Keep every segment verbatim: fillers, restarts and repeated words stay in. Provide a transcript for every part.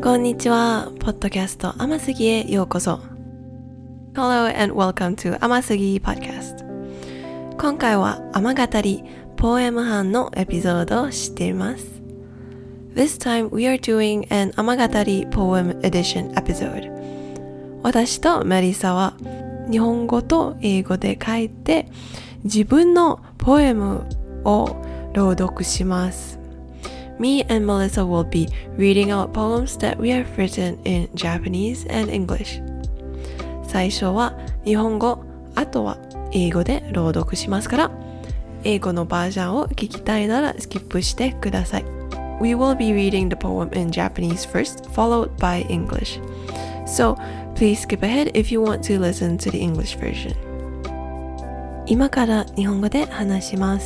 こんにちは。ポッドキャスト甘すぎへようこそ。Hello and welcome to 甘すぎ Podcast。今回は甘語りポエム班のエピソードをしています。This time we are doing an 甘語り poem edition episode。私とメリサは日本語と英語で書いて自分のポエムを朗読します。Me and Melissa will be reading out poems that we have written in Japanese and English. 最初は日本語、あとは英語で朗読しますから、英語のバージョンを聞きたいならスキップしてください。We will be reading the poem in Japanese first, followed by English. So, please skip ahead if you want to listen to the English version. 今から日本語で話します。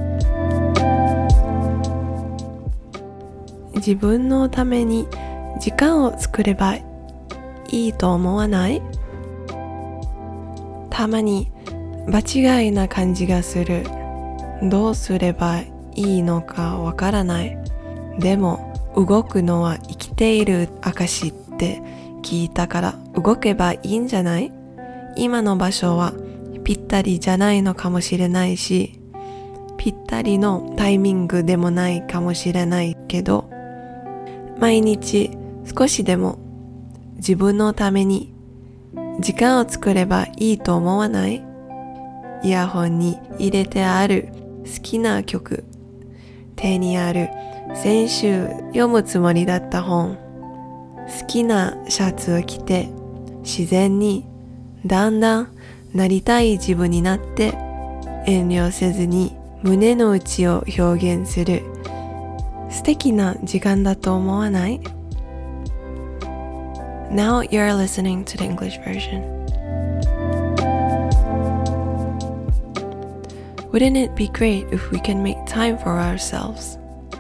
自分のために時間を作ればいいと思わない？たまに場違いな感じがする。どうすればいいのかわからない。でも動くのは生きている証って聞いたから動けばいいんじゃない？今の場所はぴったりじゃないのかもしれないし、ぴったりのタイミングでもないかもしれないけど、毎日少しでも自分のために時間を作ればいいと思わない？イヤホンに入れてある好きな曲、手にある先週読むつもりだった本、好きなシャツを着て自然にだんだんなりたい自分になって遠慮せずに胸の内を表現する素敵な時間だと思わない？ Now you're listening to the English version. Wouldn't it be great if we can make time for ourselves?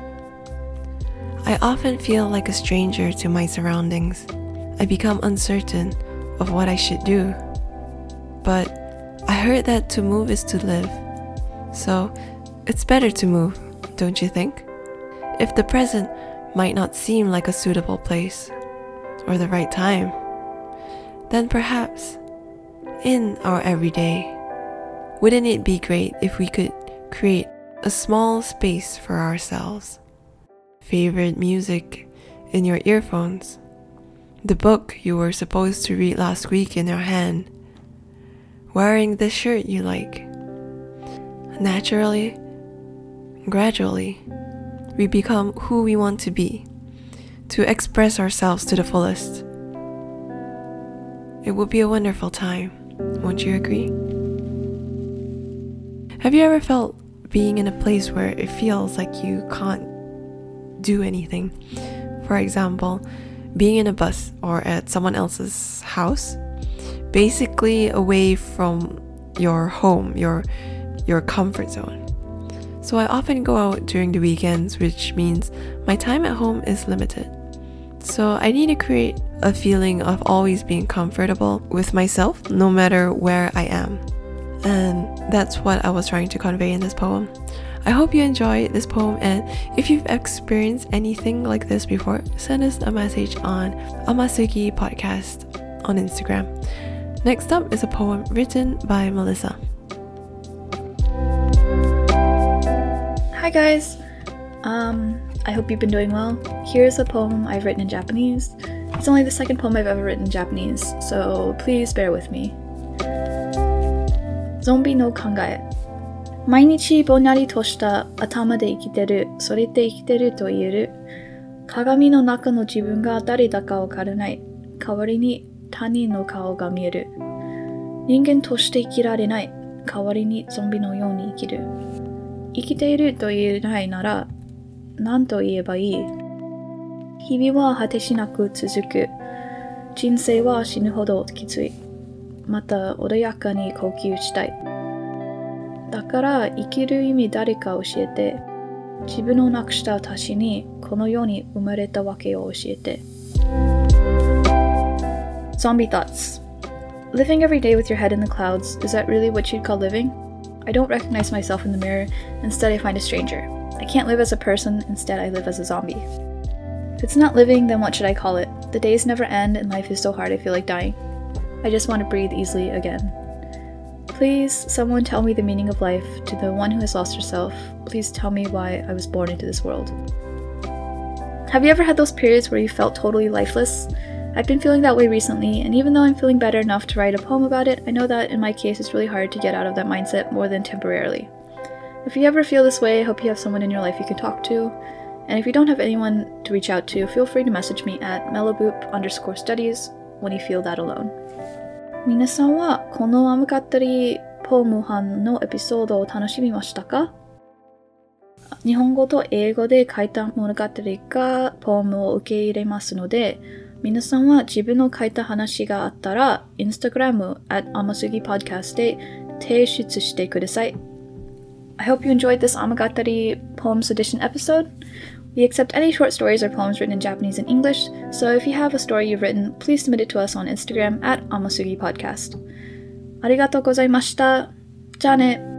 I often feel like a stranger to my surroundings. I become uncertain of what I should do. But I heard that to move is to live. So it's better to move, don't you think?If the present might not seem like a suitable place or the right time, then perhaps in our everyday, wouldn't it be great if we could create a small space for ourselves? Favorite music in your earphones, the book you were supposed to read last week in your hand, wearing the shirt you like. Naturally, gradually,We become who we want to be, to express ourselves to the fullest. It would be a wonderful time, won't you agree? Have you ever felt being in a place where it feels like you can't do anything? For example, being in a bus or at someone else's house, basically away from your home, your, your comfort zone.So I often go out during the weekends, which means my time at home is limited. So I need to create a feeling of always being comfortable with myself, no matter where I am. And that's what I was trying to convey in this poem. I hope you enjoy this poem, and if you've experienced anything like this before, send us a message on Amasugi Podcast on Instagram. Next up is a poem written by Melissa.Hi guys! Um, I hope you've been doing well. Here's a poem I've written in Japanese. It's only the second poem I've ever written in Japanese, so please bear with me. ゾンビの考え。毎日ぼんやりとした頭で生きてる、それで生きてると言える。鏡の中の自分が誰だかわからない。代わりに他人の顔が見える。人間として生きられない。代わりにゾンビのように生きる。生きていると言えないなら何と言えばいい？日々は果てしなく続く。人生は死ぬほどきつい。また穏やかに呼吸したい。だから生きる意味誰か教えて。自分をなくした私にこの世に生まれたわけを教えて。Zombie thoughts. Living every day with your head in the clouds, is that really what you'd call living?I don't recognize myself in the mirror. Instead, I find a stranger. I can't live as a person. Instead, I live as a zombie. If it's not living, then what should I call it? The days never end and life is so hard I feel like dying. I just want to breathe easily again. Please, someone tell me the meaning of life. To the one who has lost herself, please tell me why I was born into this world. Have you ever had those periods where you felt totally lifeless? I've been feeling that way recently, and even though I'm feeling better enough to write a poem about it, I know that in my case it's really hard to get out of that mindset more than temporarily. If you ever feel this way, I hope you have someone in your life you can talk to. And if you don't have anyone to reach out to, feel free to message me at meloboop underscore studies when you feel that alone. 皆さんはこのアムカッタリポーム班のエピソードを楽しみましたか？日本語と英語で書いた物語がポームを受け入れますので、皆さんは自分の書いた話があったら、Instagram at amasugi podcast で提出してください。I hope you enjoyed this Amagatari Poems Edition episode. We accept any short stories or poems written in Japanese and English, so if you have a story you've written, please submit it to us on Instagram at amasugi podcast. ありがとうございました。じゃあね。